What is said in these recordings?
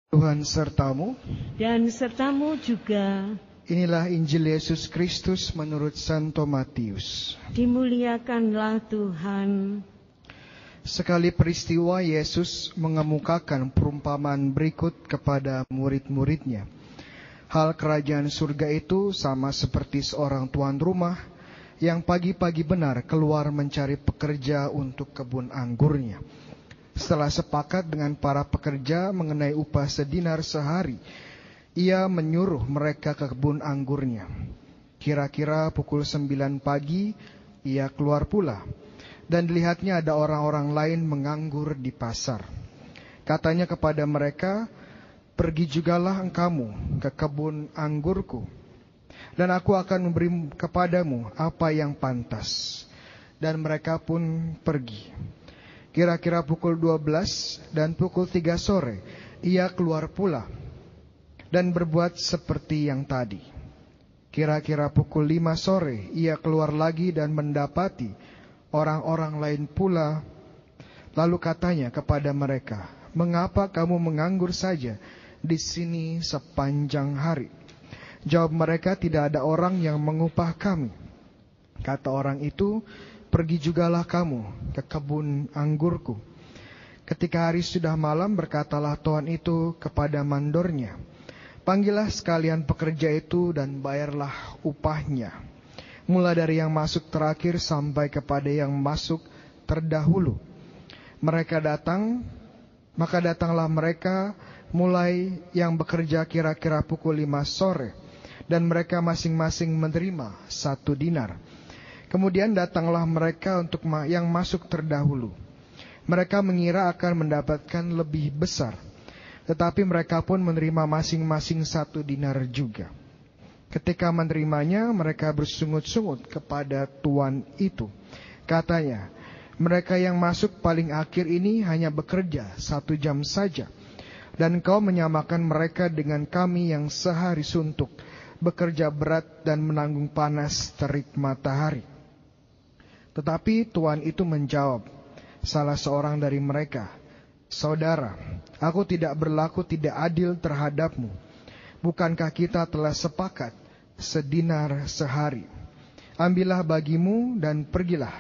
Tuhan sertamu, dan sertamu juga. Inilah Injil Yesus Kristus menurut Santo Matius. Dimuliakanlah Tuhan. Sekali peristiwa Yesus mengemukakan perumpamaan berikut kepada murid-muridnya. Hal kerajaan surga itu sama seperti seorang tuan rumah yang pagi-pagi benar keluar mencari pekerja untuk kebun anggurnya. Setelah sepakat dengan para pekerja mengenai upah sedinar sehari, ia menyuruh mereka ke kebun anggurnya. Kira-kira pukul 9 pagi, ia keluar pula. Dan dilihatnya ada orang-orang lain menganggur di pasar. Katanya kepada mereka, "Pergi jugalah engkamu ke kebun anggurku, dan aku akan memberi kepadamu apa yang pantas." Dan mereka pun pergi. Kira-kira pukul 12 dan pukul 3 sore, ia keluar pula dan berbuat seperti yang tadi. Kira-kira pukul 5 sore, ia keluar lagi dan mendapati orang-orang lain pula. Lalu katanya kepada mereka, "Mengapa kamu menganggur saja di sini sepanjang hari?" Jawab mereka, "Tidak ada orang yang mengupah kami." Kata orang itu, "Pergi jugalah kamu ke kebun anggurku." Ketika hari sudah malam, berkatalah tuan itu kepada mandornya, "Panggillah sekalian pekerja itu dan bayarlah upahnya, mulai dari yang masuk terakhir sampai kepada yang masuk terdahulu." Maka datanglah mereka mulai yang bekerja kira-kira pukul 5 sore, dan mereka masing-masing menerima 1 dinar. Kemudian datanglah mereka untuk yang masuk terdahulu. Mereka mengira akan mendapatkan lebih besar, tetapi mereka pun menerima masing-masing 1 dinar juga. Ketika menerimanya, mereka bersungut-sungut kepada tuan itu. Katanya, "Mereka yang masuk paling akhir ini hanya bekerja 1 jam saja, dan kau menyamakan mereka dengan kami yang sehari suntuk, bekerja berat dan menanggung panas terik matahari." Tetapi tuan itu menjawab, salah seorang dari mereka, "Saudara, aku tidak berlaku tidak adil terhadapmu. Bukankah kita telah sepakat sedinar sehari? Ambillah bagimu dan pergilah.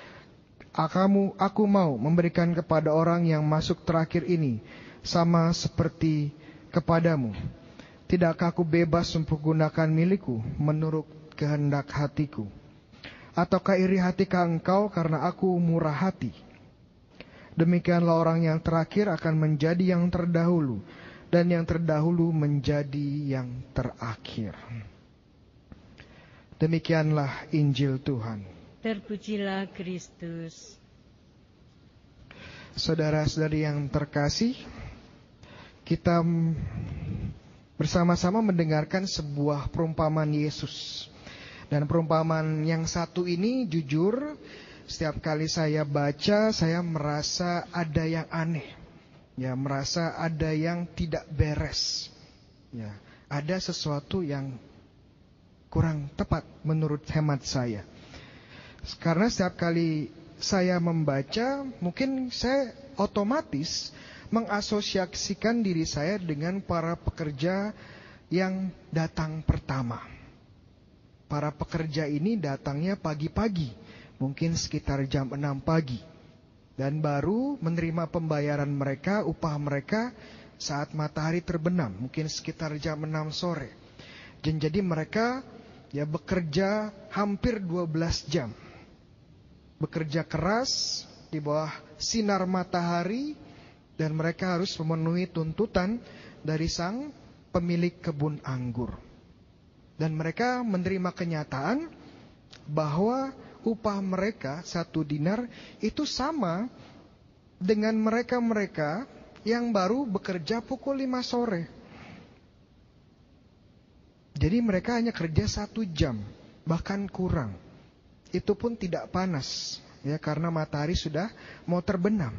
Aku mau memberikan kepada orang yang masuk terakhir ini sama seperti kepadamu. Tidakkah aku bebas mempergunakan milikku menurut kehendak hatiku? Ataukah iri hatikah engkau karena aku murah hati?" Demikianlah orang yang terakhir akan menjadi yang terdahulu, dan yang terdahulu menjadi yang terakhir. Demikianlah Injil Tuhan. Terpujilah Kristus. Saudara-saudari yang terkasih, kita bersama-sama mendengarkan sebuah perumpamaan Yesus. Dan perumpamaan yang satu ini jujur, setiap kali saya baca, saya merasa ada yang aneh. Ya, merasa ada yang tidak beres. Ya, ada sesuatu yang kurang tepat menurut hemat saya. Karena setiap kali saya membaca, mungkin saya otomatis mengasosiasikan diri saya dengan para pekerja yang datang pertama. Para pekerja ini datangnya pagi-pagi, mungkin sekitar jam 6 pagi. Dan baru menerima pembayaran mereka, upah mereka saat matahari terbenam, mungkin sekitar jam 6 sore. Dan jadi mereka ya bekerja hampir 12 jam. Bekerja keras di bawah sinar matahari, dan mereka harus memenuhi tuntutan dari sang pemilik kebun anggur. Dan mereka menerima kenyataan bahwa upah mereka 1 dinar itu sama dengan mereka-mereka yang baru bekerja pukul 5 sore. Jadi mereka hanya kerja 1 jam, bahkan kurang. Itu pun tidak panas, ya, karena matahari sudah mau terbenam.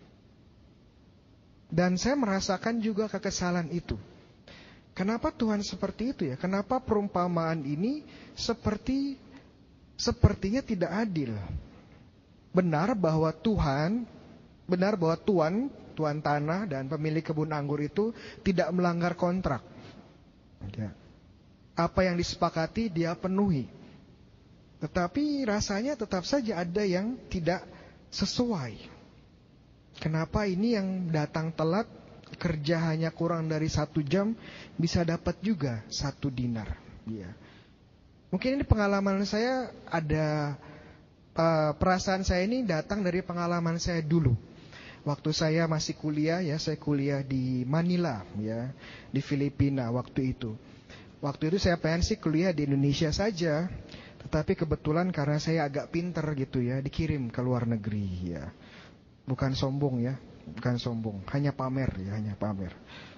Dan saya merasakan juga kekesalan itu. Kenapa Tuhan seperti itu ya? Kenapa perumpamaan ini sepertinya tidak adil? Benar bahwa Tuan tuan tanah dan pemilik kebun anggur itu tidak melanggar kontrak. Ya. Apa yang disepakati dia penuhi. Tetapi rasanya tetap saja ada yang tidak sesuai. Kenapa ini yang datang telat, kerja hanya kurang dari 1 jam, bisa dapat juga 1 dinar. Ya. Mungkin ini pengalaman saya ada, perasaan saya ini datang dari pengalaman saya dulu. Waktu saya masih kuliah, ya, saya kuliah di Manila, ya, di Filipina waktu itu. Waktu itu saya pengen sih kuliah di Indonesia saja, tetapi kebetulan karena saya agak pinter gitu ya, dikirim ke luar negeri ya. Bukan sombong ya, bukan sombong, hanya pamer ya, hanya pamer.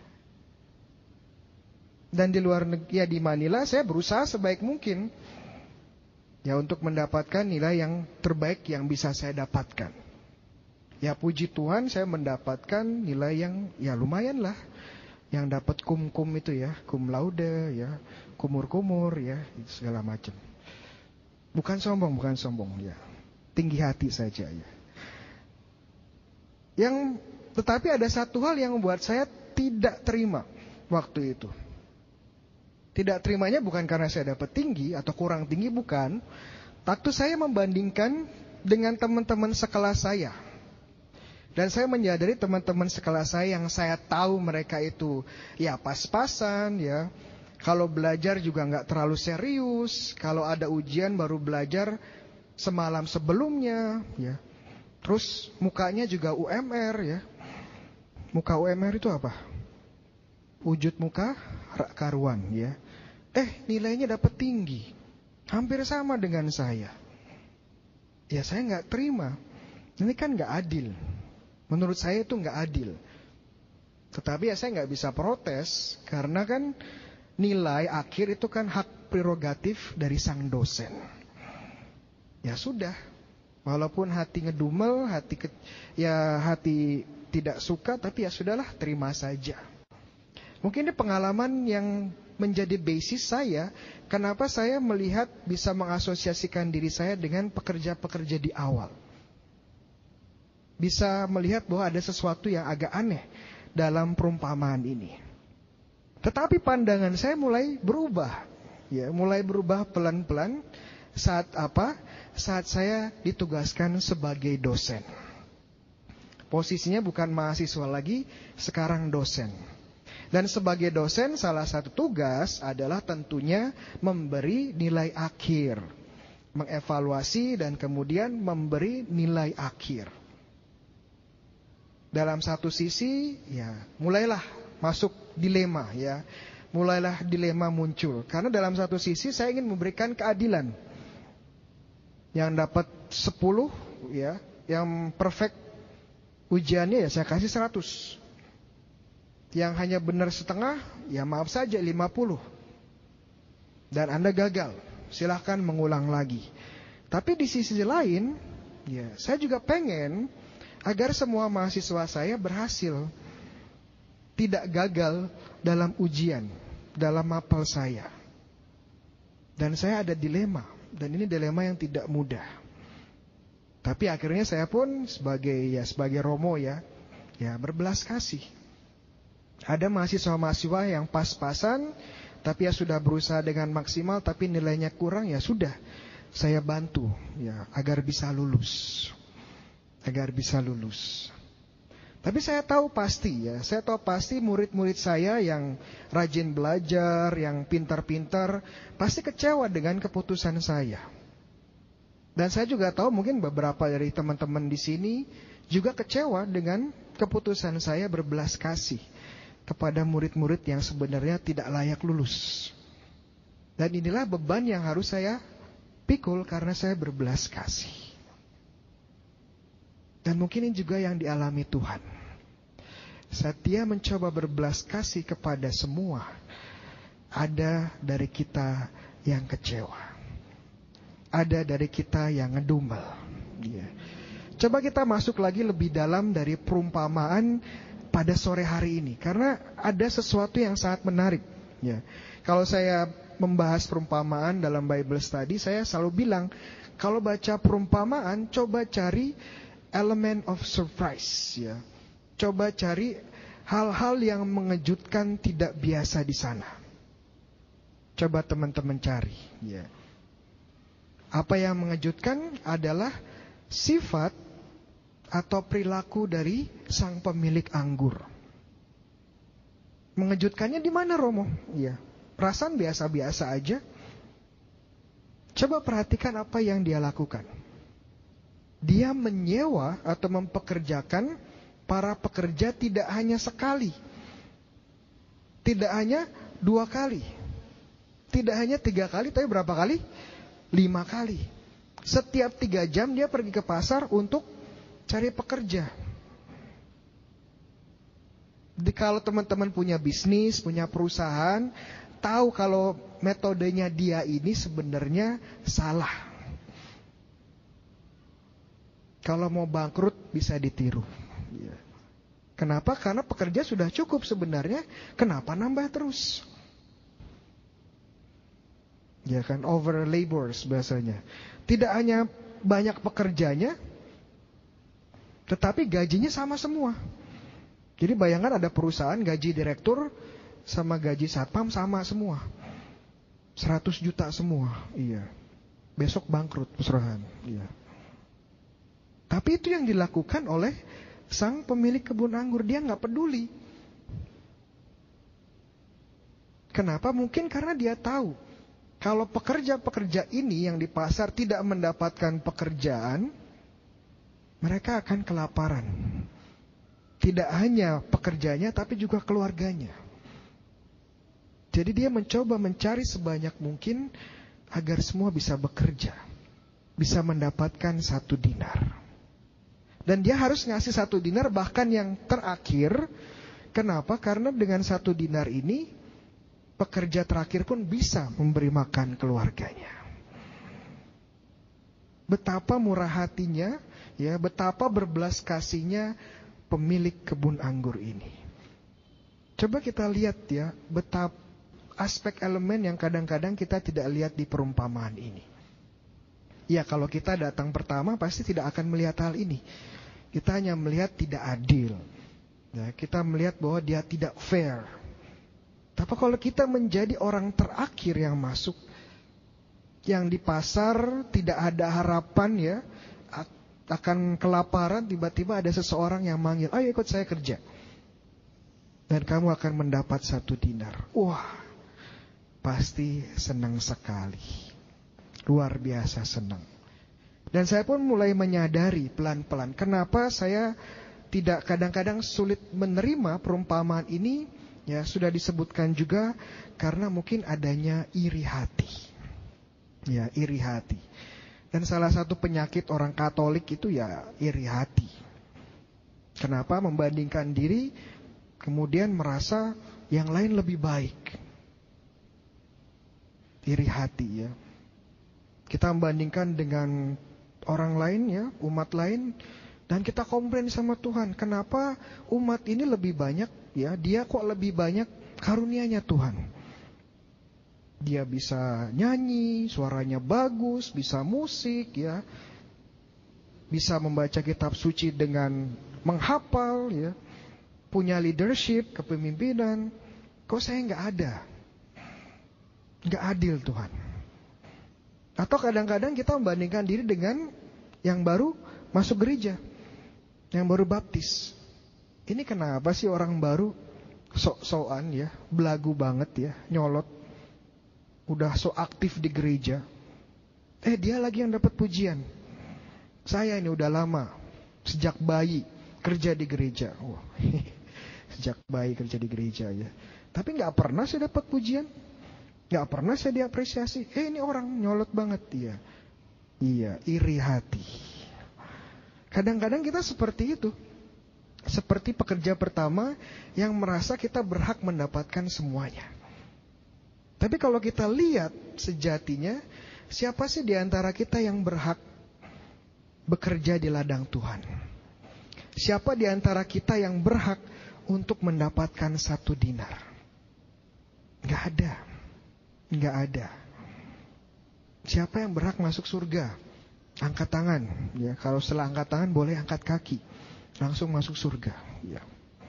Dan di luar negeri ya, di Manila saya berusaha sebaik mungkin ya untuk mendapatkan nilai yang terbaik yang bisa saya dapatkan. Ya puji Tuhan saya mendapatkan nilai yang ya lumayan lah. Yang dapat kum itu ya, cum laude ya, kumur ya, segala macam. Bukan sombong ya. Tinggi hati saja ya. Tetapi ada satu hal yang membuat saya tidak terima waktu itu. Tidak terimanya bukan karena saya dapat tinggi atau kurang tinggi, bukan. Waktu saya membandingkan dengan teman-teman sekelas saya. Dan saya menyadari teman-teman sekelas saya yang saya tahu mereka itu ya pas-pasan ya. Kalau belajar juga nggak terlalu serius. Kalau ada ujian baru belajar semalam sebelumnya ya. Terus mukanya juga UMR ya. Muka UMR itu apa? Wujud muka karuan ya. Nilainya dapat tinggi. Hampir sama dengan saya. Ya saya nggak terima. Ini kan nggak adil. Menurut saya itu nggak adil. Tetapi ya saya nggak bisa protes karena kan nilai akhir itu kan hak prerogatif dari sang dosen. Ya sudah, walaupun hati ngedumel, hati tidak suka, tapi ya sudahlah, terima saja. Mungkin ini pengalaman yang menjadi basis saya, kenapa saya melihat bisa mengasosiasikan diri saya dengan pekerja-pekerja di awal. Bisa melihat bahwa ada sesuatu yang agak aneh dalam perumpamaan ini. Tetapi pandangan saya mulai berubah. Ya, mulai berubah pelan-pelan saat apa? Saat saya ditugaskan sebagai dosen. Posisinya bukan mahasiswa lagi, sekarang dosen. Dan sebagai dosen salah satu tugas adalah tentunya memberi nilai akhir. Mengevaluasi dan kemudian memberi nilai akhir. Dalam satu sisi, ya, mulailah masuk dilema, ya. Mulailah dilema muncul. Karena dalam satu sisi saya ingin memberikan keadilan. Yang dapat 10, ya, yang perfect ujiannya ya saya kasih 100. Yang hanya benar setengah, ya maaf saja 50. Dan Anda gagal, silahkan mengulang lagi. Tapi di sisi lain, ya, saya juga pengen agar semua mahasiswa saya berhasil, tidak gagal dalam ujian, dalam mapel saya. Dan saya ada dilema, dan ini dilema yang tidak mudah. Tapi akhirnya saya pun sebagai Romo ya berbelas kasih. Ada mahasiswa-mahasiswa yang pas-pasan, tapi ya sudah berusaha dengan maksimal, tapi nilainya kurang, ya sudah, saya bantu ya agar bisa lulus. Tapi saya tahu pasti murid-murid saya yang rajin belajar, yang pintar-pintar, pasti kecewa dengan keputusan saya. Dan saya juga tahu mungkin beberapa dari teman-teman di sini juga kecewa dengan keputusan saya berbelas kasih kepada murid-murid yang sebenarnya tidak layak lulus. Dan inilah beban yang harus saya pikul karena saya berbelas kasih. Dan mungkin ini juga yang dialami Tuhan. Saat Dia mencoba berbelas kasih kepada semua, ada dari kita yang kecewa. Ada dari kita yang ngedumel. Ya. Coba kita masuk lagi lebih dalam dari perumpamaan pada sore hari ini. Karena ada sesuatu yang sangat menarik. Ya. Kalau saya membahas perumpamaan dalam Bible Study, saya selalu bilang, kalau baca perumpamaan, coba cari element of surprise, ya. Coba cari hal-hal yang mengejutkan tidak biasa di sana. Coba teman-teman cari. Ya. Apa yang mengejutkan adalah sifat atau perilaku dari sang pemilik anggur. Mengejutkannya di mana, Romo? Ya, perasaan biasa-biasa aja. Coba perhatikan apa yang dia lakukan. Dia menyewa atau mempekerjakan para pekerja tidak hanya sekali, tidak hanya 2 kali, tidak hanya 3 kali, tapi berapa kali? 5 kali. Setiap 3 jam dia pergi ke pasar untuk cari pekerja. Kalau teman-teman punya bisnis, punya perusahaan, tahu kalau metodenya dia ini sebenarnya salah. Kalau mau bangkrut bisa ditiru. Kenapa? Karena pekerja sudah cukup sebenarnya. Kenapa nambah terus? Ya kan, over labors bahasanya. Tidak hanya banyak pekerjanya, tetapi gajinya sama semua. Jadi bayangkan ada perusahaan gaji direktur sama gaji satpam sama semua. 100 juta semua. Iya. Besok bangkrut perusahaan. Iya. Tapi itu yang dilakukan oleh sang pemilik kebun anggur. Dia nggak peduli. Kenapa? Mungkin karena dia tahu kalau pekerja-pekerja ini yang di pasar tidak mendapatkan pekerjaan, mereka akan kelaparan. Tidak hanya pekerjanya, tapi juga keluarganya. Jadi dia mencoba mencari sebanyak mungkin agar semua bisa bekerja, bisa mendapatkan 1 dinar. Dan dia harus ngasih 1 dinar bahkan yang terakhir. Kenapa? Karena dengan 1 dinar ini pekerja terakhir pun bisa memberi makan keluarganya. Betapa murah hatinya, ya, betapa berbelas kasihnya pemilik kebun anggur ini. Coba kita lihat ya, betapa aspek elemen yang kadang-kadang kita tidak lihat di perumpamaan ini. Ya, kalau kita datang pertama pasti tidak akan melihat hal ini. Kita hanya melihat tidak adil. Ya, kita melihat bahwa dia tidak fair. Tapi kalau kita menjadi orang terakhir yang masuk, yang di pasar tidak ada harapan ya, akan kelaparan, tiba-tiba ada seseorang yang manggil, ayo ikut saya kerja. Dan kamu akan mendapat 1 dinar. Wah, pasti senang sekali. Luar biasa senang. Dan saya pun mulai menyadari pelan-pelan, kenapa saya tidak kadang-kadang sulit menerima perumpamaan ini. Ya, sudah disebutkan juga karena mungkin adanya iri hati. Ya, iri hati. Dan salah satu penyakit orang Katolik itu ya iri hati. Kenapa? Membandingkan diri, kemudian merasa yang lain lebih baik. Iri hati ya. Kita membandingkan dengan orang lain ya, umat lain, dan kita komplain sama Tuhan. Kenapa umat ini lebih banyak ya? Dia kok lebih banyak karunia-Nya Tuhan. Dia bisa nyanyi, suaranya bagus, bisa musik ya. Bisa membaca kitab suci dengan menghafal ya. Punya leadership, kepemimpinan. Kok saya nggak ada? Nggak adil Tuhan. Atau kadang-kadang kita membandingkan diri dengan yang baru masuk gereja, yang baru baptis. Ini kenapa sih orang baru sok-sokan ya, belagu banget ya, nyolot. Udah so aktif di gereja. Dia lagi yang dapat pujian. Saya ini udah lama, sejak bayi kerja di gereja. Wah, sejak bayi kerja di gereja ya. Tapi nggak pernah saya dapat pujian, nggak pernah saya diapresiasi. Ini orang nyolot banget dia. Iya, iri hati. Kadang-kadang kita seperti itu. Seperti pekerja pertama yang merasa kita berhak mendapatkan semuanya. Tapi kalau kita lihat sejatinya, siapa sih di antara kita yang berhak bekerja di ladang Tuhan? Siapa di antara kita yang berhak untuk mendapatkan 1 dinar? Gak ada. Gak ada. Siapa yang berhak masuk surga? Angkat tangan. Ya, kalau setelah angkat tangan boleh angkat kaki. langsung masuk surga. Ya.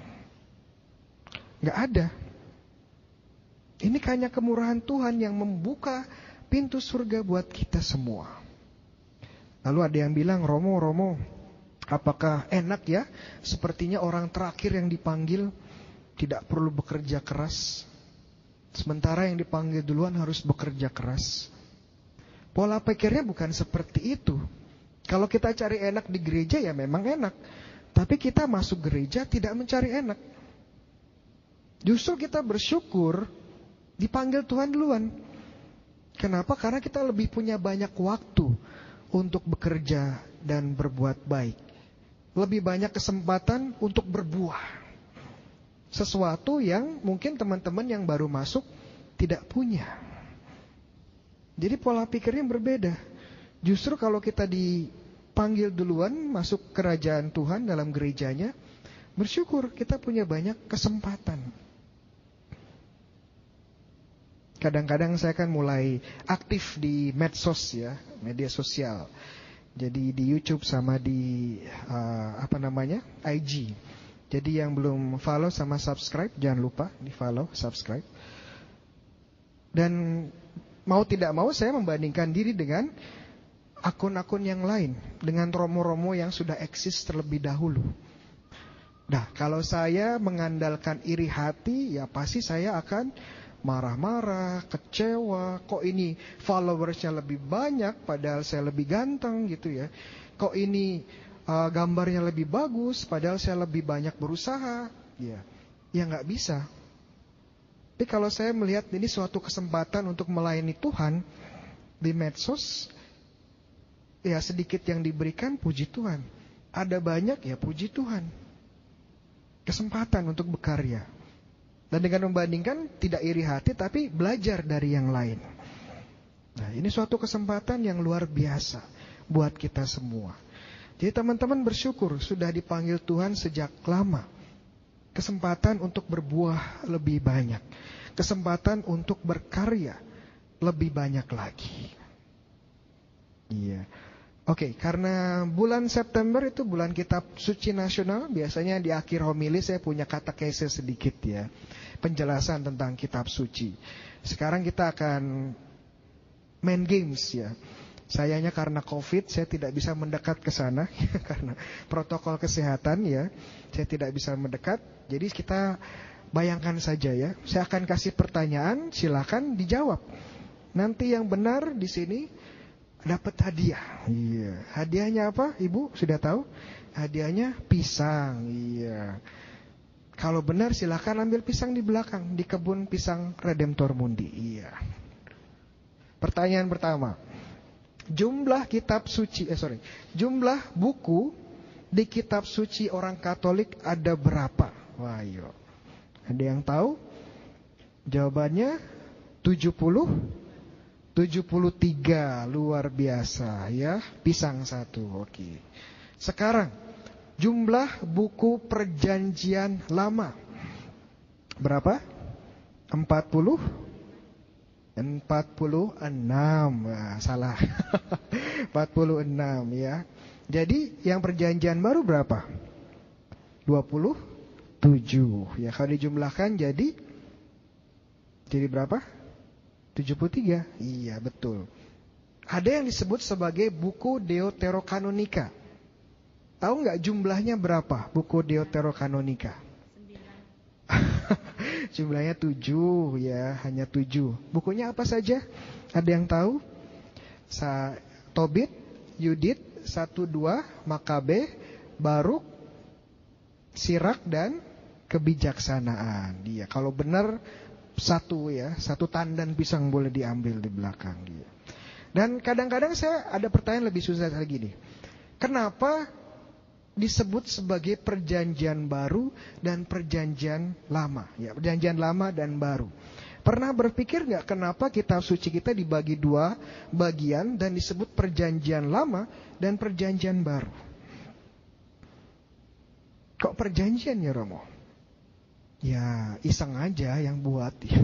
Nggak ada. Ini hanya kemurahan Tuhan yang membuka pintu surga buat kita semua. Lalu ada yang bilang, Romo, apakah enak ya? Sepertinya orang terakhir yang dipanggil tidak perlu bekerja keras. Sementara yang dipanggil duluan harus bekerja keras. Pola pikirnya bukan seperti itu. Kalau kita cari enak di gereja ya memang enak. Tapi kita masuk gereja tidak mencari enak. Justru kita bersyukur dipanggil Tuhan duluan. Kenapa? Karena kita lebih punya banyak waktu untuk bekerja dan berbuat baik. Lebih banyak kesempatan untuk berbuah. Sesuatu yang mungkin teman-teman yang baru masuk tidak punya. Jadi pola pikirnya berbeda. Justru kalau kita dipanggil duluan masuk kerajaan Tuhan dalam gerejanya, bersyukur kita punya banyak kesempatan. Kadang-kadang saya kan mulai aktif di medsos ya, media sosial. Jadi di YouTube sama di IG. Jadi yang belum follow sama subscribe, jangan lupa di follow, subscribe. Dan mau tidak mau saya membandingkan diri dengan akun-akun yang lain, dengan romo-romo yang sudah eksis terlebih dahulu. Nah, kalau saya mengandalkan iri hati, ya pasti saya akan marah-marah, kecewa. Kok ini followersnya lebih banyak padahal saya lebih ganteng gitu ya. Kok ini gambarnya lebih bagus padahal saya lebih banyak berusaha. Ya nggak bisa. Tapi kalau saya melihat ini suatu kesempatan untuk melayani Tuhan di medsos, ya sedikit yang diberikan, puji Tuhan. Ada banyak, ya puji Tuhan. Kesempatan untuk berkarya. Dan dengan membandingkan, tidak iri hati, tapi belajar dari yang lain. Nah, ini suatu kesempatan yang luar biasa buat kita semua. Jadi teman-teman bersyukur sudah dipanggil Tuhan sejak lama. Kesempatan untuk berbuah lebih banyak. Kesempatan untuk berkarya lebih banyak lagi. Iya. Oke, karena bulan September itu bulan kitab suci nasional, biasanya di akhir homili saya punya katekese sedikit ya, penjelasan tentang kitab suci. Sekarang kita akan main games ya. Sayangnya karena COVID saya tidak bisa mendekat ke sana karena protokol kesehatan ya. Saya tidak bisa mendekat. Jadi kita bayangkan saja ya. Saya akan kasih pertanyaan, silakan dijawab. Nanti yang benar di sini dapat hadiah. Iya. Hadiahnya apa? Ibu sudah tahu? Hadiahnya pisang. Iya. Kalau benar silakan ambil pisang di belakang di kebun pisang Redemptor Mundi. Iya. Pertanyaan pertama. Jumlah jumlah buku di kitab suci orang Katolik ada berapa? Wah, ayo. Ada yang tahu? Jawabannya 70, 73, luar biasa ya. Pisang satu, oke. Sekarang jumlah buku perjanjian lama berapa? 46, salah. 46 ya. Jadi yang perjanjian baru berapa? 27. Ya, kalau dijumlahkan jadi berapa? 73. Iya, betul. Ada yang disebut sebagai buku Deuterokanonika. Tahu nggak jumlahnya berapa buku Deuterokanonika? Jumlahnya 7 ya, hanya 7. Bukunya apa saja? Ada yang tahu? Tobit, Yudit, 1-2, Makabe, Baruk, Sirak dan Kebijaksanaan. Dia kalau benar satu ya, satu tandan pisang boleh diambil di belakang dia. Dan kadang-kadang saya ada pertanyaan lebih susah lagi nih. Kenapa disebut sebagai perjanjian baru dan perjanjian lama ya, perjanjian lama dan baru. Pernah berpikir nggak kenapa kitab suci kita dibagi dua bagian dan disebut perjanjian lama dan perjanjian baru? Kok perjanjian ya Romo? Ya iseng aja yang buat ya.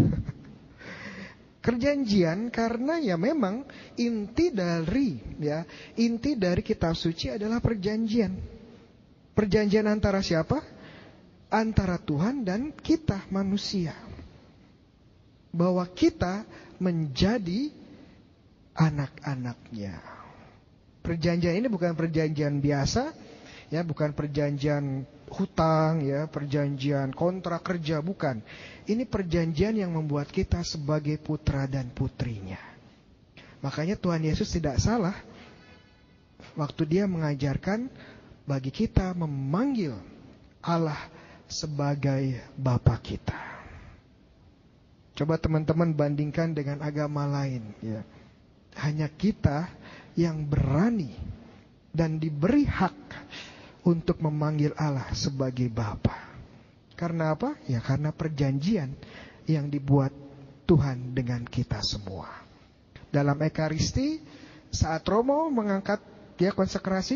Perjanjian karena ya memang inti dari kitab suci adalah perjanjian. Perjanjian antara siapa? Antara Tuhan dan kita manusia. Bahwa kita menjadi anak-anaknya. Perjanjian ini bukan perjanjian biasa, ya, bukan perjanjian hutang, ya, perjanjian kontrak kerja, bukan. Ini perjanjian yang membuat kita sebagai putra dan putrinya. Makanya Tuhan Yesus tidak salah waktu dia mengajarkan bagi kita memanggil Allah sebagai Bapa kita. Coba teman-teman bandingkan dengan agama lain, ya. Hanya kita yang berani dan diberi hak untuk memanggil Allah sebagai Bapa. Karena apa? Ya karena perjanjian yang dibuat Tuhan dengan kita semua. Dalam Ekaristi, saat Romo mengangkat konsekrasi,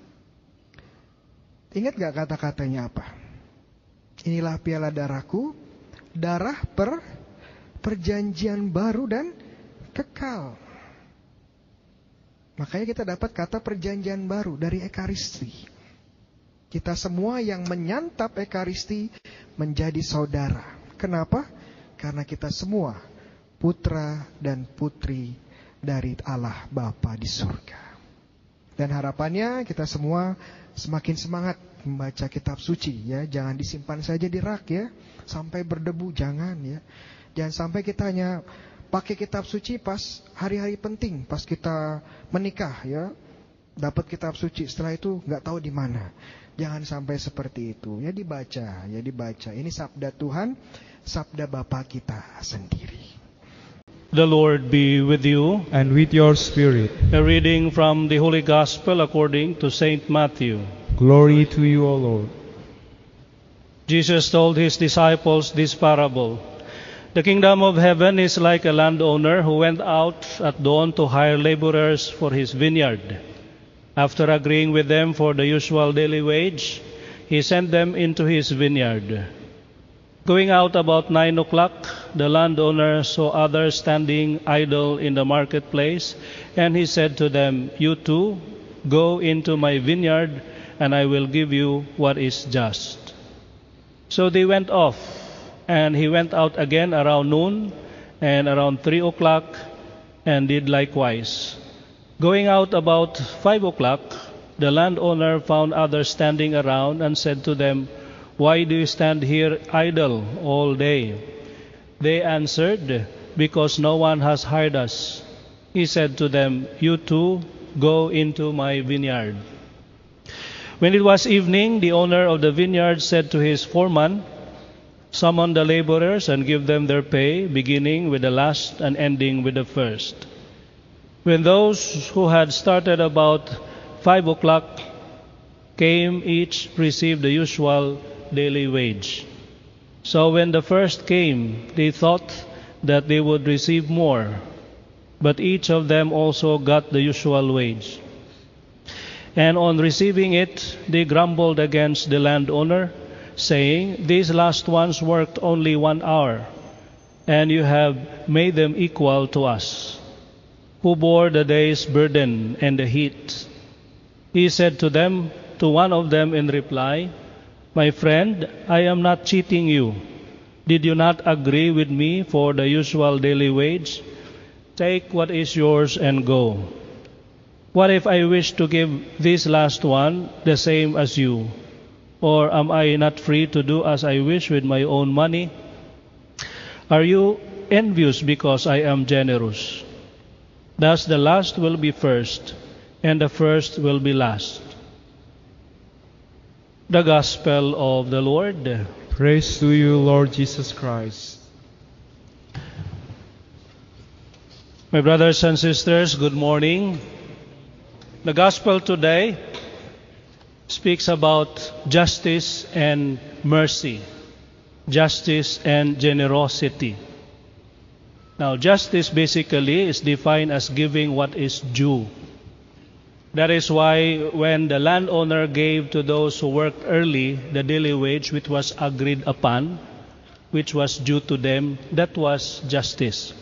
ingat gak kata-katanya apa? Inilah piala darahku, darah perjanjian baru dan kekal. Makanya kita dapat kata perjanjian baru dari Ekaristi. Kita semua yang menyantap Ekaristi menjadi saudara. Kenapa? Karena kita semua putra dan putri dari Allah Bapa di surga. Dan harapannya kita semua semakin semangat membaca kitab suci, ya. Jangan disimpan saja di rak, ya, sampai berdebu, jangan, ya. Jangan sampai kita hanya pakai kitab suci pas hari-hari penting, pas kita menikah, ya. Dapat kitab suci, setelah itu nggak tahu di mana. Jangan sampai seperti itu. Ya dibaca, ya dibaca. Ini sabda Tuhan, sabda Bapa kita sendiri. The Lord be with you. And with your spirit. A reading from the Holy Gospel according to Saint Matthew. Glory to you, O Lord. Jesus told his disciples this parable. The kingdom of heaven is like a landowner who went out at dawn to hire laborers for his vineyard. After agreeing with them for the usual daily wage, he sent them into his vineyard. Going out about 9 o'clock, the landowner saw others standing idle in the marketplace, and he said to them, "You too, go into my vineyard, and I will give you what is just." So they went off, and he went out again around noon, and around 3 o'clock, and did likewise. Going out about 5 o'clock, the landowner found others standing around, and said to them, "Why do you stand here idle all day?" They answered, "Because no one has hired us." He said to them, "You too, go into my vineyard." When it was evening, the owner of the vineyard said to his foreman, "Summon the laborers and give them their pay, beginning with the last and ending with the first." When those who had started about 5 o'clock came, each received the usual daily wage. So when the first came, they thought that they would receive more, but each of them also got the usual wage. And on receiving it, they grumbled against the landowner, saying, "These last ones worked only 1 hour, and you have made them equal to us, who bore the day's burden and the heat." He said to one of them in reply, "My friend, I am not cheating you. Did you not agree with me for the usual daily wage? Take what is yours and go. What if I wish to give this last one the same as you? Or am I not free to do as I wish with my own money? Are you envious because I am generous? Thus the last will be first, and the first will be last." The Gospel of the Lord. Praise to you, Lord Jesus Christ. My brothers and sisters, good morning. The Gospel today speaks about justice and mercy, justice and generosity. Now, justice basically is defined as giving what is due. That is why when the landowner gave to those who worked early the daily wage which was agreed upon, which was due to them, that was justice.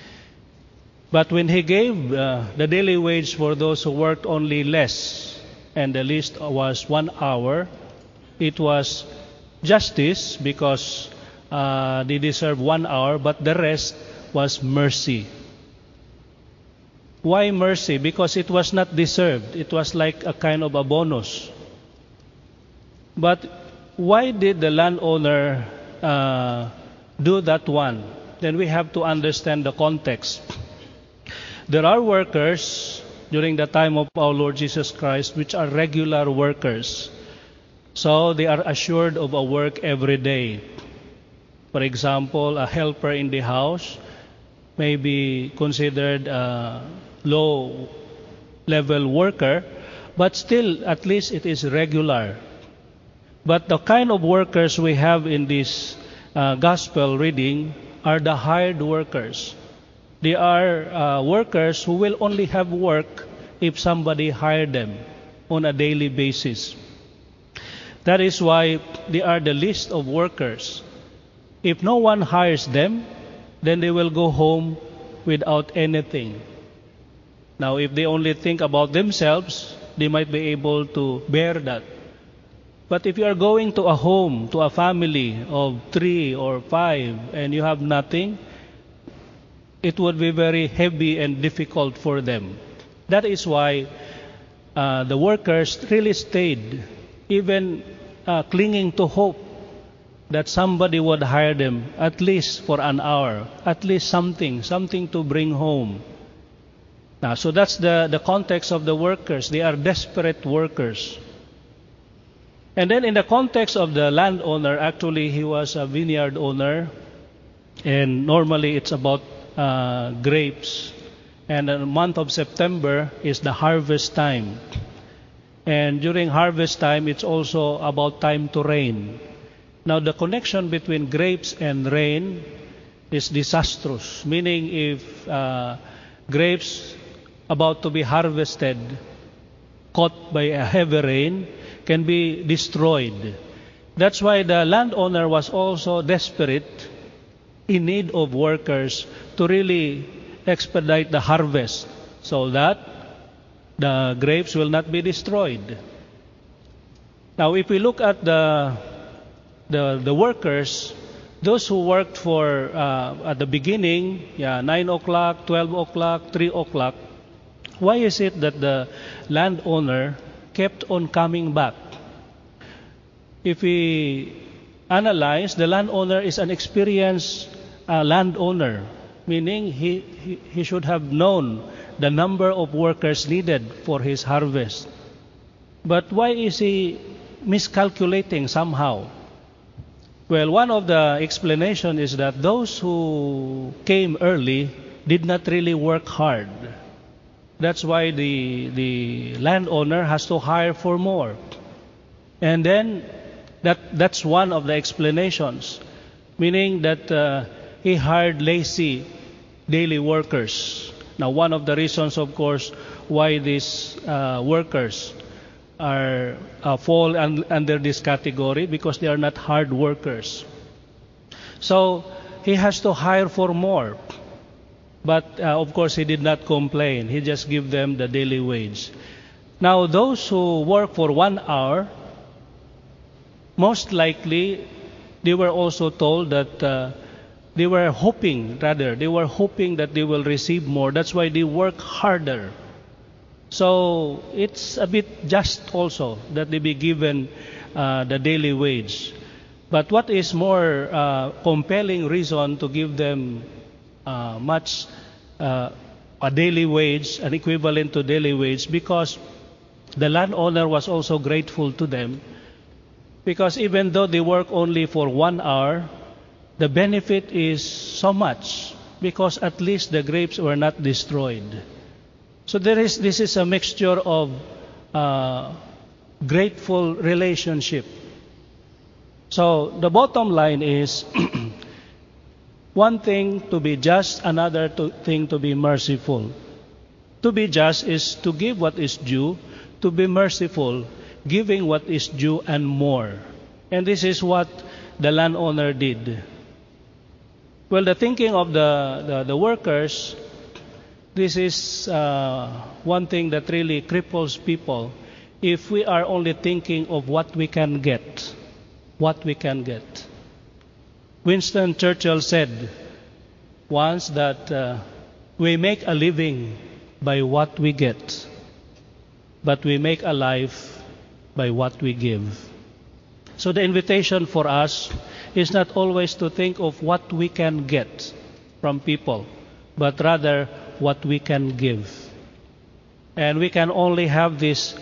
But when he gave the daily wage for those who worked only less, and the least was 1 hour. It was justice because they deserve 1 hour, but the rest was mercy. Why mercy? Because it was not deserved. It was like a kind of a bonus. But why did the landowner do that one? Then we have to understand the context. There are workers during the time of our Lord Jesus Christ which are regular workers. So they are assured of a work every day. For example, a helper in the house may be considered a low-level worker, but still at least it is regular. But the kind of workers we have in this gospel reading are the hired workers. They are workers who will only have work if somebody hired them on a daily basis. That is why they are the least of workers. If no one hires them, then they will go home without anything. Now, if they only think about themselves, they might be able to bear that. But if you are going to a home, to a family of 3 or 5, and you have nothing, it would be very heavy and difficult for them. That is why the workers really stayed, even clinging to hope that somebody would hire them at least for an hour, at least something to bring home. Now, so that's the context of the workers. They are desperate workers. And then in the context of the landowner, actually he was a vineyard owner, and normally it's about grapes. And the month of September is the harvest time. And during harvest time, it's also about time to rain. Now, the connection between grapes and rain is disastrous, meaning if grapes about to be harvested, caught by a heavy rain, can be destroyed. That's why the landowner was also desperate, in need of workers to really expedite the harvest so that the grapes will not be destroyed. Now, if we look at the workers, those who worked for at the beginning, 9 o'clock, 12 o'clock, 3 o'clock, why is it that the landowner kept on coming back? If we analyze, the landowner is an experienced landowner, meaning he should have known the number of workers needed for his harvest. But why is he miscalculating somehow? Well, one of the explanation is that those who came early did not really work hard. That's why the landowner has to hire for more. And then that's one of the explanations, meaning that he hired lazy daily workers. Now, one of the reasons, of course, why these workers are fall under this category, because they are not hard workers. So he has to hire for more. But of course, he did not complain. He just give them the daily wage. Now, those who work for 1 hour, most likely they were also told that they were hoping that they will receive more. That's why they work harder. So it's a bit just also that they be given the daily wage. But what is more compelling reason to give them a daily wage, an equivalent to daily wage, because the landowner was also grateful to them, because even though they work only for 1 hour, the benefit is so much, because at least the grapes were not destroyed. So this is a mixture of grateful relationship. So the bottom line is one thing to be just, another thing to be merciful. To be just is to give what is due. To be merciful, giving what is due and more. And this is what the landowner did. Well, the thinking of the workers, this is one thing that really cripples people, if we are only thinking of what we can get. What we can get. Winston Churchill said once that we make a living by what we get, but we make a life by what we give. So the invitation for us is not always to think of what we can get from people, but rather what we can give. And we can only have this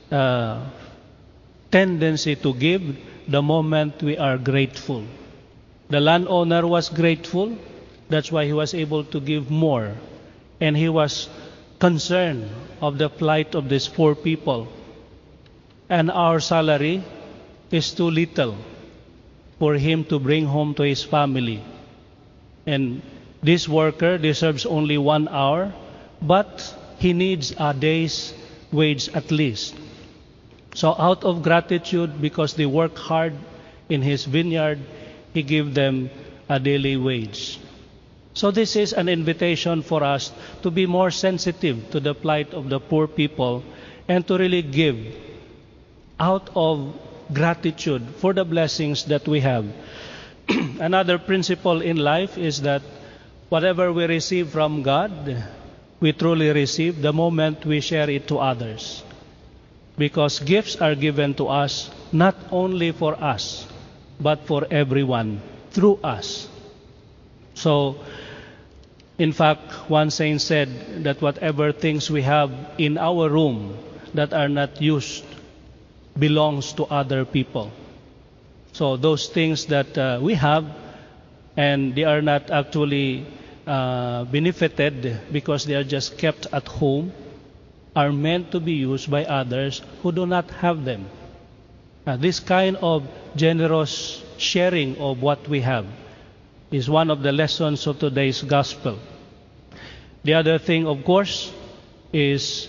tendency to give the moment we are grateful. The landowner was grateful, that's why he was able to give more. And he was concerned of the plight of these poor people. And our salary is too little for him to bring home to his family. And this worker deserves only 1 hour, but he needs a day's wage at least. So out of gratitude, because they work hard in his vineyard, he gave them a daily wage. So this is an invitation for us to be more sensitive to the plight of the poor people and to really give out of gratitude for the blessings that we have. Another principle in life is that whatever we receive from God, we truly receive the moment we share it to others. Because gifts are given to us not only for us, but for everyone through us. So, in fact, one saint said that whatever things we have in our room that are not used belongs to other people. So those things that we have and they are not actually benefited because they are just kept at home are meant to be used by others who do not have them. This kind of generous sharing of what we have is one of the lessons of today's gospel. The other thing, of course, is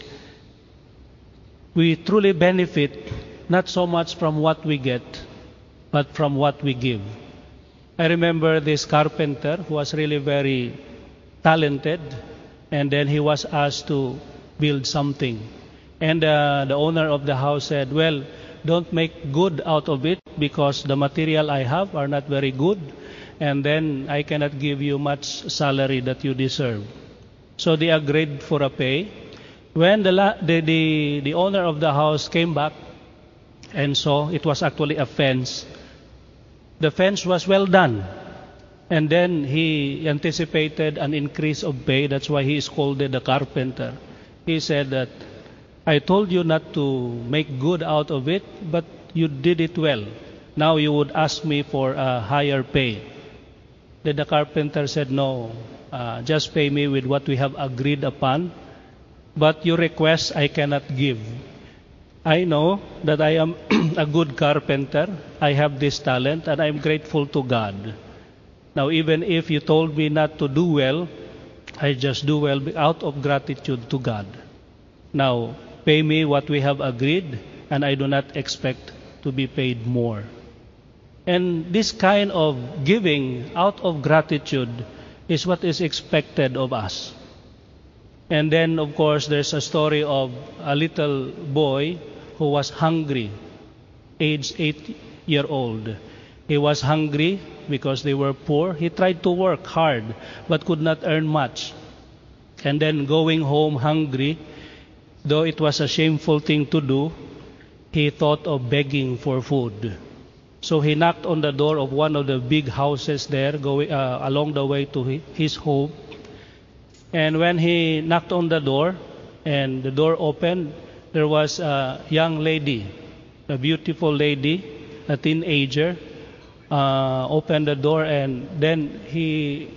we truly benefit not so much from what we get, but from what we give. I remember this carpenter who was really very talented, and then he was asked to build something. And the owner of the house said, well, don't make good out of it because the material I have are not very good, and then I cannot give you much salary that you deserve. So they agreed for a pay. When the owner of the house came back and saw it was actually a fence, the fence was well done. And then he anticipated an increase of pay. That's why he scolded the carpenter. He said that, I told you not to make good out of it, but you did it well. Now you would ask me for a higher pay. Then the carpenter said, no, just pay me with what we have agreed upon. But your request I cannot give. I know that I am a good carpenter. I have this talent and I'm grateful to God. Now even if you told me not to do well, I just do well out of gratitude to God. Now pay me what we have agreed and I do not expect to be paid more. And this kind of giving out of gratitude is what is expected of us. And then, of course, there's a story of a little boy who was hungry, aged 8-year-old. He was hungry because they were poor. He tried to work hard but could not earn much. And then going home hungry, though it was a shameful thing to do, he thought of begging for food. So he knocked on the door of one of the big houses there, going along the way to his home. And when he knocked on the door, and the door opened, there was a young lady, a beautiful lady, a teenager, opened the door, and then he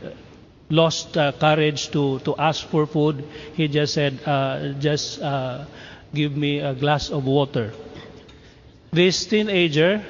lost courage to ask for food. He just said, give me a glass of water. This teenager,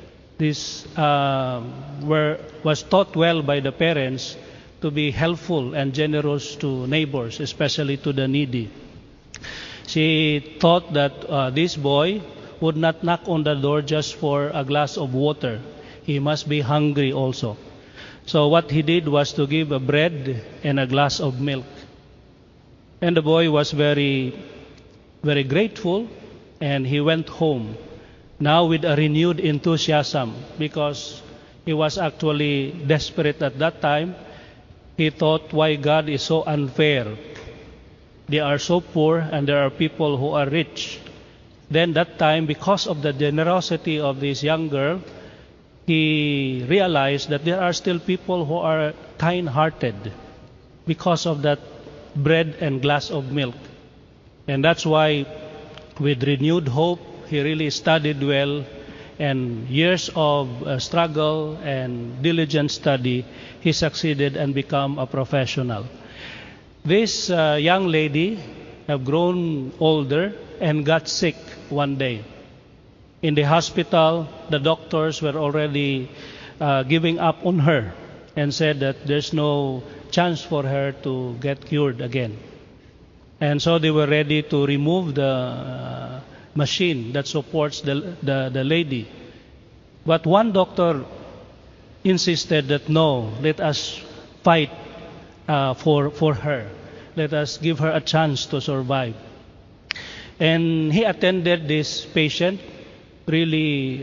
was taught well by the parents to be helpful and generous to neighbors, especially to the needy. She thought that this boy would not knock on the door just for a glass of water. He must be hungry also. So what he did was to give a bread and a glass of milk. And the boy was very, very grateful and he went home, now with a renewed enthusiasm, because he was actually desperate at that time. He thought, why God is so unfair? They are so poor and there are people who are rich. Then that time, because of the generosity of this young girl, he realized that there are still people who are kind-hearted because of that bread and glass of milk. And that's why, with renewed hope, he really studied well, and years of struggle and diligent study, he succeeded and become a professional. This young lady have grown older and got sick one day. In the hospital, the doctors were already giving up on her and said that there's no chance for her to get cured again. And so they were ready to remove the machine that supports the lady. But one doctor insisted that no, let us fight for her. Let us give her a chance to survive. And he attended this patient really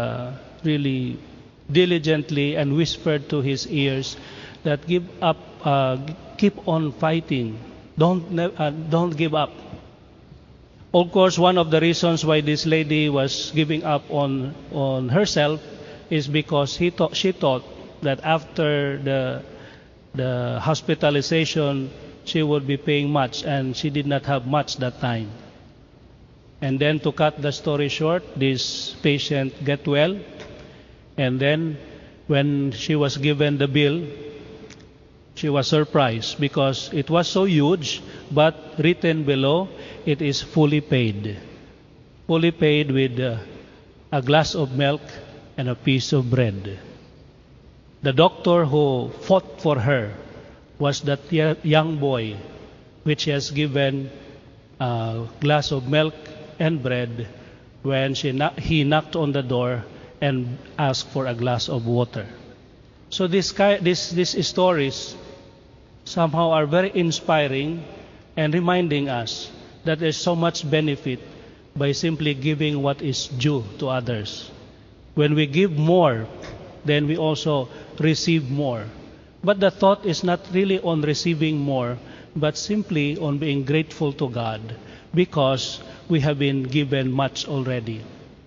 diligently and whispered to his ears that keep on fighting. Don't give up. Of course, one of the reasons why this lady was giving up on herself is because she thought that after the hospitalization, she would be paying much, and she did not have much that time. And then, to cut the story short, this patient got well, and then when she was given the bill, she was surprised because it was so huge, but written below, it is fully paid. Fully paid with a glass of milk and a piece of bread. The doctor who fought for her was that young boy, which has given a glass of milk and bread when he knocked on the door and asked for a glass of water. So these stories somehow are very inspiring and reminding us that there's so much benefit by simply giving what is due to others. When we give more, then we also receive more. But the thought is not really on receiving more, but simply on being grateful to God because we have been given much already.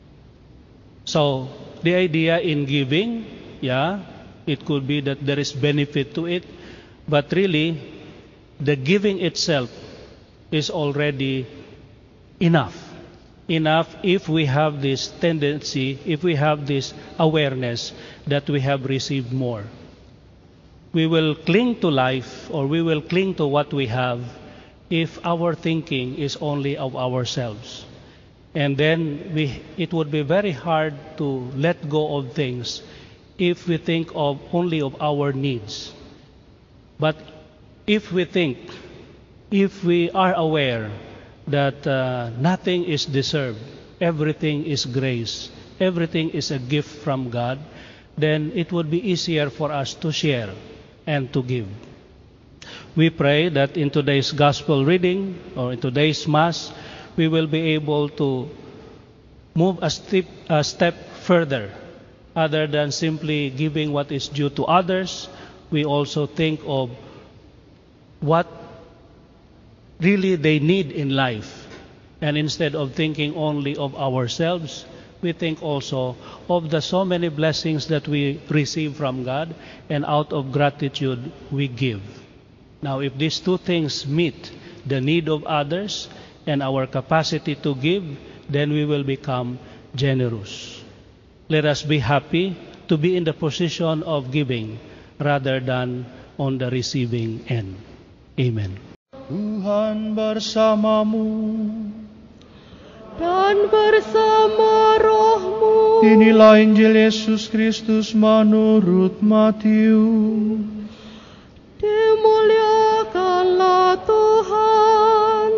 So the idea in giving, it could be that there is benefit to it, but really the giving itself is already enough. Enough if we have this tendency, if we have this awareness that we have received more. We will cling to life, or we will cling to what we have if our thinking is only of ourselves. And then it would be very hard to let go of things if we think only of our needs. But if we are aware that nothing is deserved, everything is grace, everything is a gift from God, then it would be easier for us to share and to give. We pray that in today's gospel reading or in today's Mass, we will be able to move a step further. Other than simply giving what is due to others, we also think of what really they need in life. And instead of thinking only of ourselves, we think also of the so many blessings that we receive from God, and out of gratitude we give. Now, if these two things meet the need of others and our capacity to give, then we will become generous. Let us be happy to be in the position of giving rather than on the receiving end. Amen. Tuhan bersamamu dan bersama rohmu. Inilah Injil Yesus Kristus menurut Matius. Dimuliakanlah Tuhan.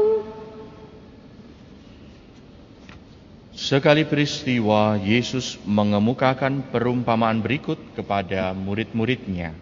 Sekali peristiwa, Yesus mengemukakan perumpamaan berikut kepada murid-muridnya.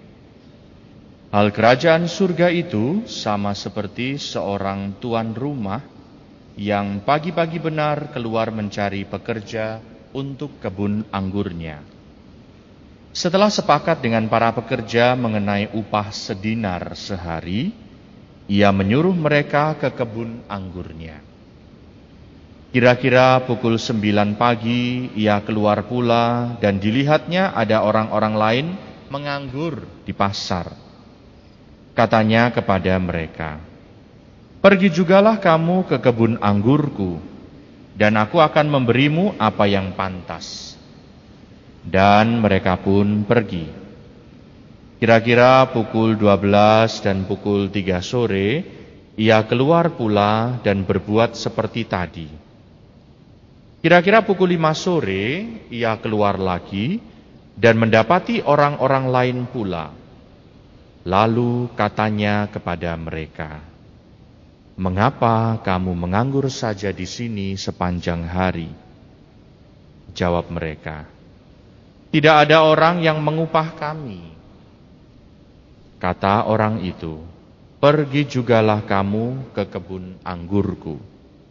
Hal kerajaan surga itu sama seperti seorang tuan rumah yang pagi-pagi benar keluar mencari pekerja untuk kebun anggurnya. Setelah sepakat dengan para pekerja mengenai upah sedinar sehari, ia menyuruh mereka ke kebun anggurnya. Kira-kira pukul 9 pagi ia keluar pula dan dilihatnya ada orang-orang lain menganggur di pasar. Katanya kepada mereka, "Pergi jugalah kamu ke kebun anggurku, dan aku akan memberimu apa yang pantas." Dan mereka pun pergi. Kira-kira pukul 12 dan pukul 3 sore, ia keluar pula dan berbuat seperti tadi. Kira-kira pukul 5 sore, ia keluar lagi dan mendapati orang-orang lain pula. Lalu katanya kepada mereka, "Mengapa kamu menganggur saja di sini sepanjang hari?" Jawab mereka, "Tidak ada orang yang mengupah kami." Kata orang itu, "Pergi jugalah kamu ke kebun anggurku."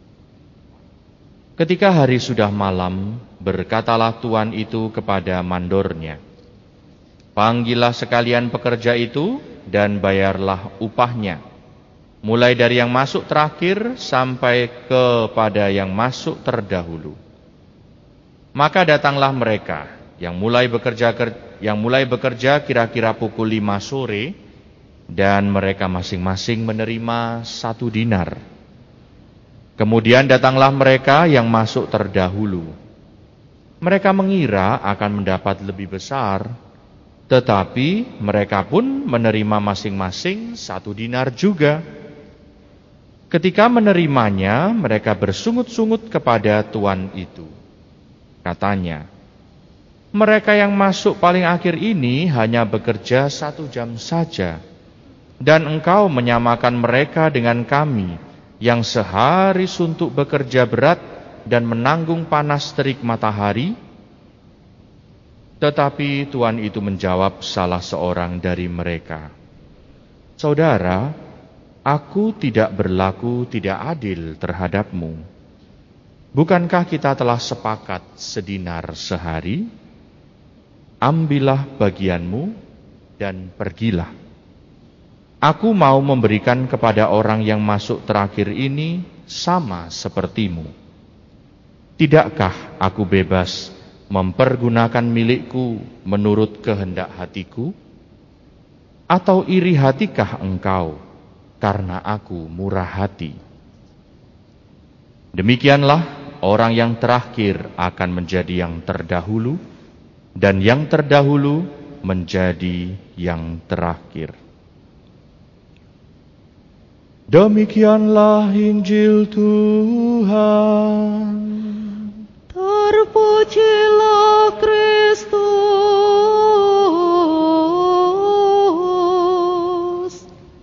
Ketika hari sudah malam, berkatalah tuan itu kepada mandornya, "Panggillah sekalian pekerja itu dan bayarlah upahnya, mulai dari yang masuk terakhir sampai kepada yang masuk terdahulu." Maka datanglah mereka yang mulai bekerja kira-kira pukul 5 sore, dan mereka masing-masing menerima 1 dinar. Kemudian datanglah mereka yang masuk terdahulu. Mereka mengira akan mendapat lebih besar, tetapi mereka pun menerima masing-masing 1 dinar juga. Ketika menerimanya, mereka bersungut-sungut kepada tuan itu. Katanya, "Mereka yang masuk paling akhir ini hanya bekerja 1 jam saja, dan engkau menyamakan mereka dengan kami, yang sehari suntuk bekerja berat dan menanggung panas terik matahari?" Tetapi tuan itu menjawab salah seorang dari mereka, "Saudara, aku tidak berlaku tidak adil terhadapmu. Bukankah kita telah sepakat sedinar sehari? Ambillah bagianmu dan pergilah. Aku mau memberikan kepada orang yang masuk terakhir ini sama sepertimu. Tidakkah aku bebas mempergunakan milikku menurut kehendak hatiku? Atau iri hatikah engkau karena aku murah hati?" Demikianlah orang yang terakhir akan menjadi yang terdahulu, dan yang terdahulu menjadi yang terakhir. Demikianlah Injil Tuhan. Terpujilah Kristus.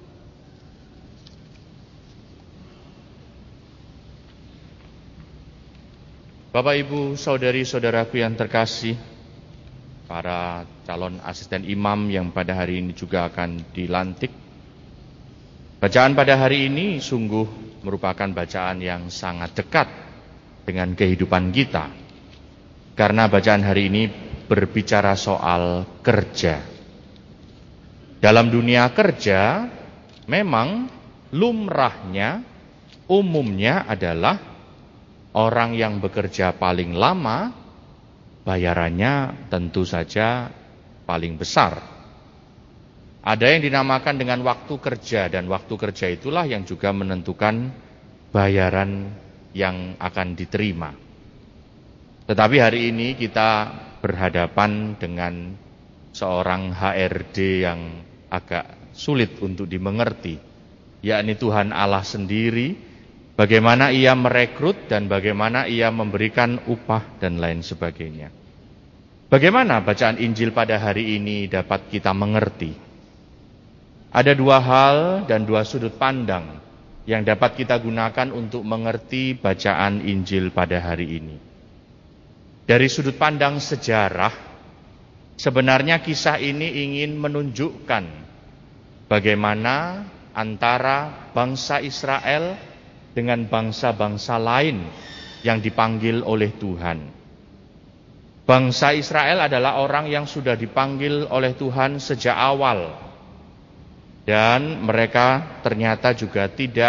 Bapak, Ibu, saudari-saudaraku yang terkasih, para calon asisten imam yang pada hari ini juga akan dilantik, bacaan pada hari ini sungguh merupakan bacaan yang sangat dekat dengan kehidupan kita. Karena bacaan hari ini berbicara soal kerja. Dalam dunia kerja, memang lumrahnya, umumnya adalah orang yang bekerja paling lama, bayarannya tentu saja paling besar. Ada yang dinamakan dengan waktu kerja, dan waktu kerja itulah yang juga menentukan bayaran yang akan diterima. Tetapi hari ini kita berhadapan dengan seorang HRD yang agak sulit untuk dimengerti, yakni Tuhan Allah sendiri, bagaimana ia merekrut dan bagaimana ia memberikan upah dan lain sebagainya. Bagaimana bacaan Injil pada hari ini dapat kita mengerti? Ada 2 hal dan 2 sudut pandang yang dapat kita gunakan untuk mengerti bacaan Injil pada hari ini. Dari sudut pandang sejarah, sebenarnya kisah ini ingin menunjukkan bagaimana antara bangsa Israel dengan bangsa-bangsa lain yang dipanggil oleh Tuhan. Bangsa Israel adalah orang yang sudah dipanggil oleh Tuhan sejak awal. Dan mereka ternyata juga tidak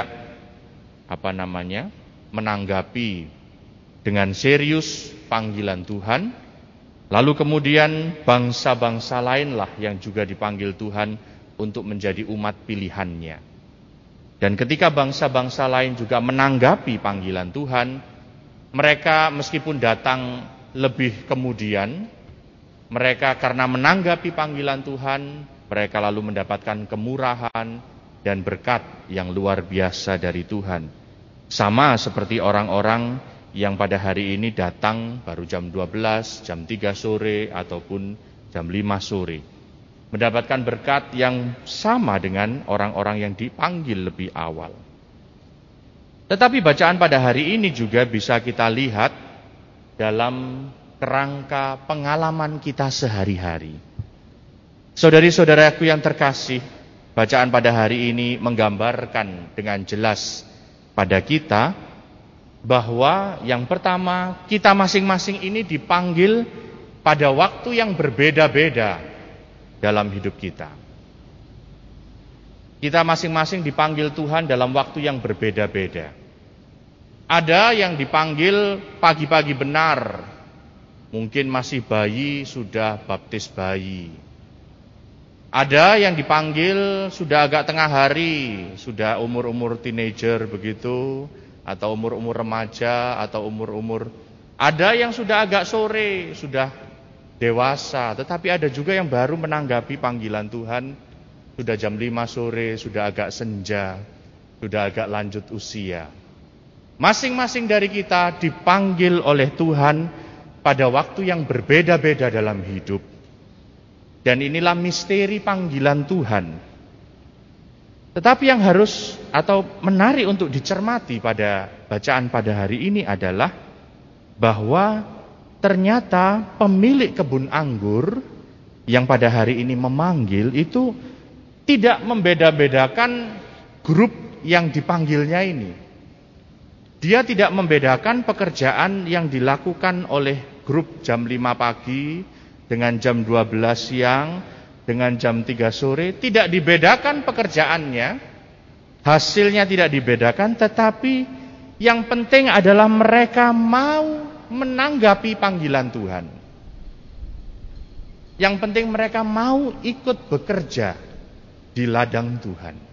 menanggapi dengan serius panggilan Tuhan. Lalu kemudian bangsa-bangsa lainlah yang juga dipanggil Tuhan untuk menjadi umat pilihannya. Dan ketika bangsa-bangsa lain juga menanggapi panggilan Tuhan, mereka meskipun datang lebih kemudian, mereka karena menanggapi panggilan Tuhan, mereka lalu mendapatkan kemurahan dan berkat yang luar biasa dari Tuhan. Sama seperti orang-orang yang pada hari ini datang baru jam 12, jam 3 sore, ataupun jam 5 sore. Mendapatkan berkat yang sama dengan orang-orang yang dipanggil lebih awal. Tetapi bacaan pada hari ini juga bisa kita lihat dalam kerangka pengalaman kita sehari-hari. Saudari-saudaraku yang terkasih, bacaan pada hari ini menggambarkan dengan jelas pada kita bahwa yang pertama, kita masing-masing ini dipanggil pada waktu yang berbeda-beda dalam hidup kita. Kita masing-masing dipanggil Tuhan dalam waktu yang berbeda-beda. Ada yang dipanggil pagi-pagi benar, mungkin masih bayi sudah baptis bayi. Ada yang dipanggil sudah agak tengah hari, sudah umur-umur teenager begitu, atau umur-umur remaja, atau umur-umur. Ada yang sudah agak sore, sudah dewasa, tetapi ada juga yang baru menanggapi panggilan Tuhan, sudah jam 5 sore, sudah agak senja, sudah agak lanjut usia. Masing-masing dari kita dipanggil oleh Tuhan pada waktu yang berbeda-beda dalam hidup. Dan inilah misteri panggilan Tuhan. Tetapi yang harus atau menarik untuk dicermati pada bacaan pada hari ini adalah bahwa ternyata pemilik kebun anggur yang pada hari ini memanggil itu tidak membeda-bedakan grup yang dipanggilnya ini. Dia tidak membedakan pekerjaan yang dilakukan oleh grup jam 5 pagi dengan jam 12 siang dengan jam 3 sore. Tidak dibedakan pekerjaannya, hasilnya tidak dibedakan, tetapi yang penting adalah mereka mau menanggapi panggilan Tuhan. Yang penting mereka mau ikut bekerja di ladang Tuhan.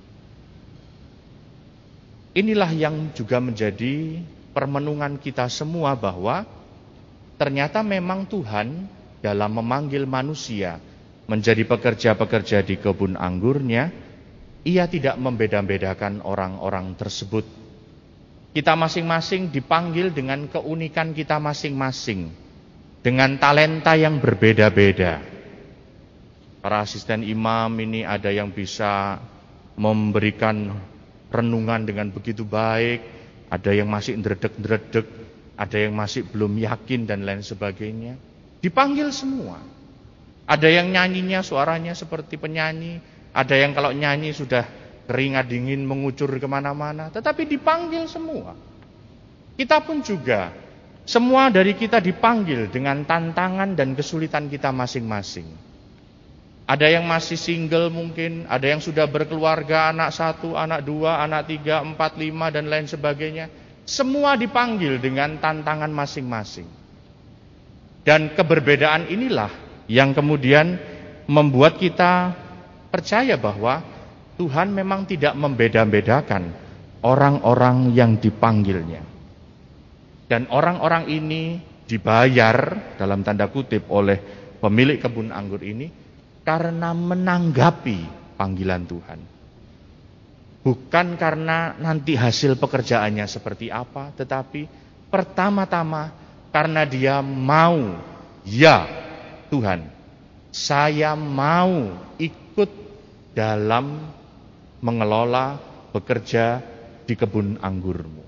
Inilah yang juga menjadi permenungan kita semua bahwa ternyata memang Tuhan dalam memanggil manusia menjadi pekerja-pekerja di kebun anggurnya, Ia tidak membeda-bedakan orang-orang tersebut. Kita masing-masing dipanggil dengan keunikan kita masing-masing, dengan talenta yang berbeda-beda. Para asisten imam ini ada yang bisa memberikan renungan dengan begitu baik, ada yang masih ndredeg-ndredeg, ada yang masih belum yakin dan lain sebagainya. Dipanggil semua. Ada yang nyanyinya suaranya seperti penyanyi, ada yang kalau nyanyi sudah keringat dingin mengucur kemana-mana, tetapi dipanggil semua. Kita pun juga, semua dari kita dipanggil dengan tantangan dan kesulitan kita masing-masing. Ada yang masih single mungkin, ada yang sudah berkeluarga, anak 1, anak 2, anak 3, 4, 5 dan lain sebagainya. Semua dipanggil dengan tantangan masing-masing. Dan keberbedaan inilah yang kemudian membuat kita percaya bahwa Tuhan memang tidak membeda-bedakan orang-orang yang dipanggilnya. Dan orang-orang ini dibayar dalam tanda kutip oleh pemilik kebun anggur ini karena menanggapi panggilan Tuhan. Bukan karena nanti hasil pekerjaannya seperti apa, tetapi pertama-tama karena dia mau, ya Tuhan, saya mau ikut dalam mengelola, bekerja di kebun anggurmu.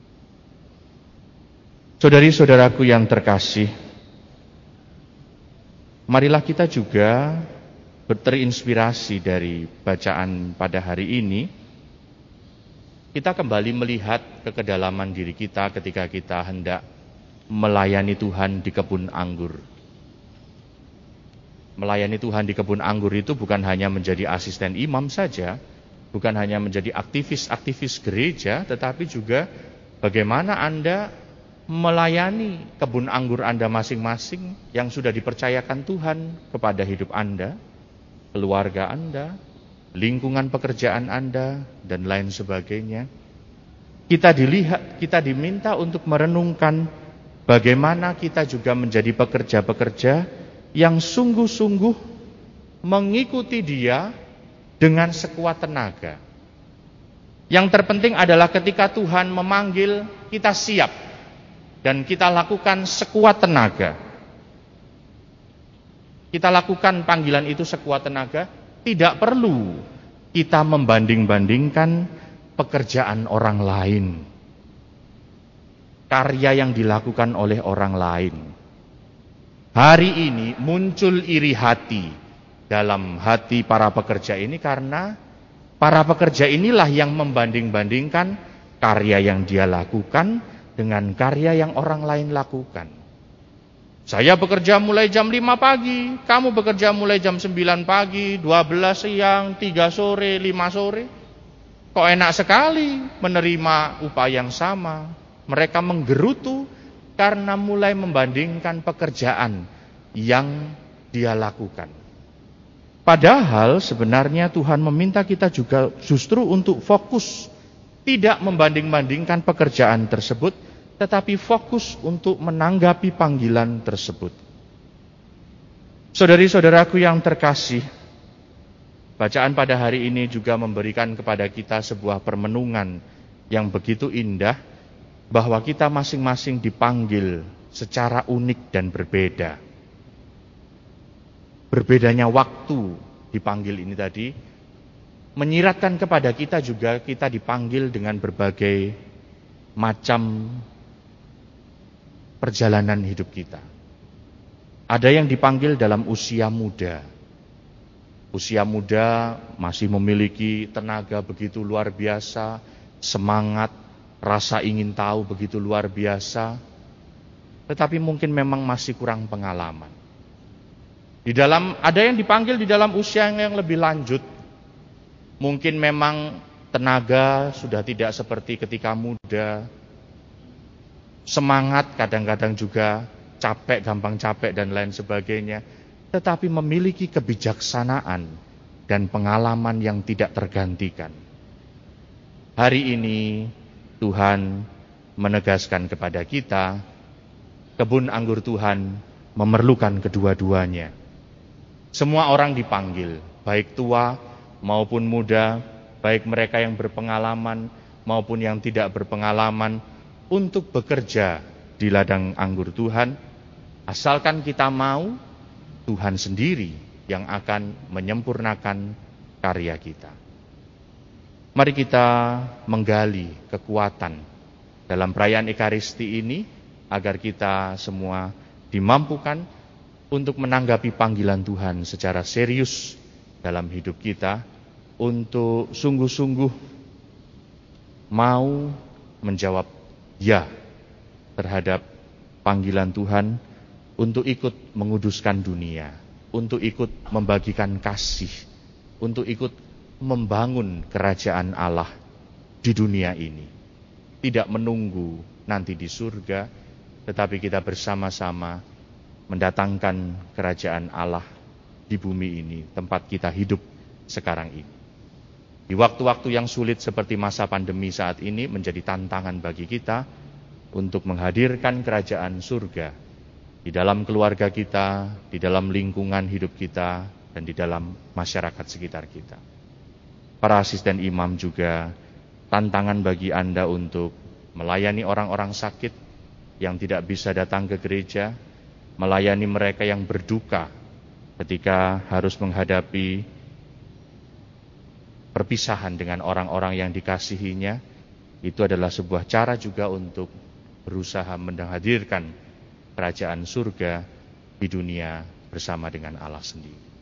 Saudari-saudaraku yang terkasih, marilah kita juga terinspirasi dari bacaan pada hari ini. kita kembali melihat ke kedalaman diri kita ketika kita hendak melayani Tuhan di kebun anggur. Melayani Tuhan di kebun anggur itu bukan hanya menjadi asisten imam saja, bukan hanya menjadi aktivis-aktivis gereja, tetapi juga bagaimana Anda melayani kebun anggur Anda masing-masing yang sudah dipercayakan Tuhan kepada hidup Anda, keluarga Anda, lingkungan pekerjaan Anda, dan lain sebagainya. Kita diminta untuk merenungkan bagaimana kita juga menjadi pekerja-pekerja yang sungguh-sungguh mengikuti Dia dengan sekuat tenaga. Yang terpenting adalah ketika Tuhan memanggil, kita siap dan kita lakukan sekuat tenaga. Kita lakukan panggilan itu sekuat tenaga, tidak perlu kita membanding-bandingkan pekerjaan orang lain, karya yang dilakukan oleh orang lain. Hari ini muncul iri hati dalam hati para pekerja ini karena para pekerja inilah yang membanding-bandingkan karya yang dia lakukan dengan karya yang orang lain lakukan. Saya bekerja mulai jam 5 pagi, kamu bekerja mulai jam 9 pagi, 12 siang, 3 sore, 5 sore. Kok enak sekali menerima upah yang sama. Mereka menggerutu karena mulai membandingkan pekerjaan yang dia lakukan. Padahal sebenarnya Tuhan meminta kita juga justru untuk fokus, tidak membanding-bandingkan pekerjaan tersebut, tetapi fokus untuk menanggapi panggilan tersebut. Saudari-saudaraku yang terkasih, bacaan pada hari ini juga memberikan kepada kita sebuah permenungan yang begitu indah, bahwa kita masing-masing dipanggil secara unik dan berbeda. Berbedanya waktu dipanggil ini tadi menyiratkan kepada kita juga kita dipanggil dengan berbagai macam perjalanan hidup kita. Ada yang dipanggil dalam usia muda. Usia muda masih memiliki tenaga begitu luar biasa, semangat, rasa ingin tahu begitu luar biasa, tetapi mungkin memang masih kurang pengalaman. Ada yang dipanggil di dalam usia yang lebih lanjut. Mungkin memang tenaga sudah tidak seperti ketika muda. Semangat kadang-kadang juga capek, gampang capek dan lain sebagainya. Tetapi memiliki kebijaksanaan dan pengalaman yang tidak tergantikan. Hari ini Tuhan menegaskan kepada kita, kebun anggur Tuhan memerlukan kedua-duanya. Semua orang dipanggil, baik tua maupun muda, baik mereka yang berpengalaman maupun yang tidak berpengalaman, untuk bekerja di ladang anggur Tuhan. Asalkan kita mau, Tuhan sendiri yang akan menyempurnakan karya kita. Mari kita menggali kekuatan dalam perayaan Ekaristi ini agar kita semua dimampukan untuk menanggapi panggilan Tuhan secara serius dalam hidup kita, untuk sungguh-sungguh mau menjawab ya terhadap panggilan Tuhan untuk ikut menguduskan dunia, untuk ikut membagikan kasih, untuk ikut membangun kerajaan Allah di dunia ini. Tidak menunggu nanti di surga, tetapi kita bersama-sama mendatangkan kerajaan Allah di bumi ini, tempat kita hidup sekarang ini. Di waktu-waktu yang sulit seperti masa pandemi saat ini menjadi tantangan bagi kita untuk menghadirkan kerajaan surga di dalam keluarga kita, di dalam lingkungan hidup kita, dan di dalam masyarakat sekitar kita. Para asisten imam juga tantangan bagi Anda untuk melayani orang-orang sakit yang tidak bisa datang ke gereja, melayani mereka yang berduka ketika harus menghadapi perpisahan dengan orang-orang yang dikasihinya. Itu adalah sebuah cara juga untuk berusaha menghadirkan kerajaan surga di dunia bersama dengan Allah sendiri.